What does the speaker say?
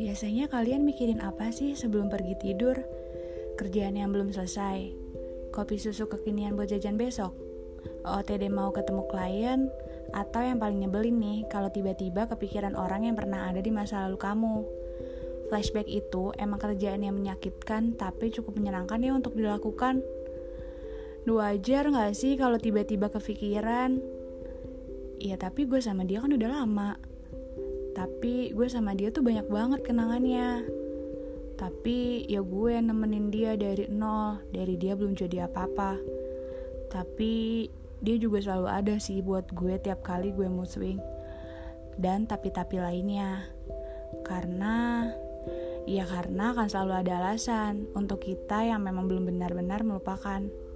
Biasanya kalian mikirin apa sih sebelum pergi tidur? Kerjaan yang belum selesai? Kopi susu kekinian buat jajan besok? OOTD mau ketemu klien? Atau yang paling nyebelin nih, kalau tiba-tiba kepikiran orang yang pernah ada di masa lalu kamu? Flashback itu emang kerjaan yang menyakitkan, tapi cukup menyenangkan ya untuk dilakukan. Wajar gak sih kalau tiba-tiba kepikiran? Iya, tapi gue sama dia kan udah lama. Tapi gue sama dia tuh banyak banget kenangannya. Tapi ya gue nemenin dia dari nol. Dari dia belum jadi apa-apa. Tapi dia juga selalu ada sih buat gue tiap kali gue mood swing. Dan tapi-tapi lainnya. Karena akan selalu ada alasan untuk kita yang memang belum benar-benar melupakan.